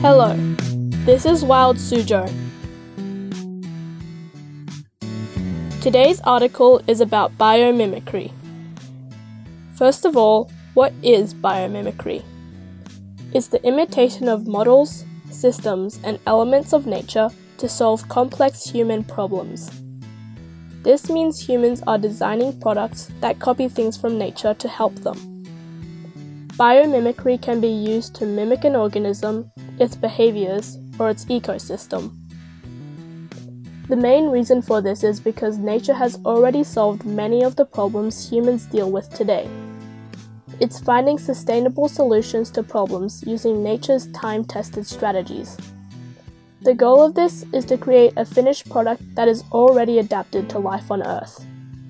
Hello, this is Wild Suzhou. Today's article is about biomimicry. First of all, what is biomimicry? It's the imitation of models, systems, and elements of nature to solve complex human problems. This means humans are designing products that copy things from nature to help them. Biomimicry can be used to mimic an organism, its behaviors, or its ecosystem. The main reason for this is because nature has already solved many of the problems humans deal with today. It's finding sustainable solutions to problems using nature's time-tested strategies. The goal of this is to create a finished product that is already adapted to life on Earth.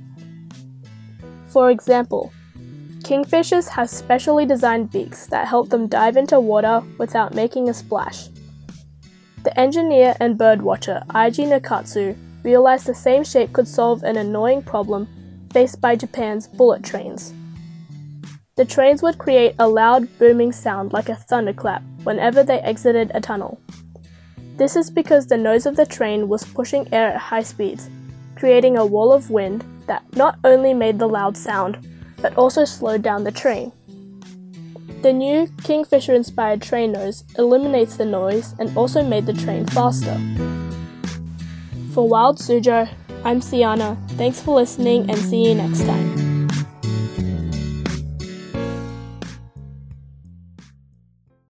For example, kingfishers have specially designed beaks that help them dive into water without making a splash. The engineer and birdwatcher Eiji Nakatsu realized the same shape could solve an annoying problem faced by Japan's bullet trains. The trains would create a loud, booming sound like a thunderclap whenever they exited a tunnel. This is because the nose of the train was pushing air at high speeds, creating a wall of wind that not only made the loud sound, but also slowed down the train. The new Kingfisher-inspired train nose eliminates the noise and also made the train faster. For Wild Suzhou, I'm Siana. Thanks for listening and see you next time.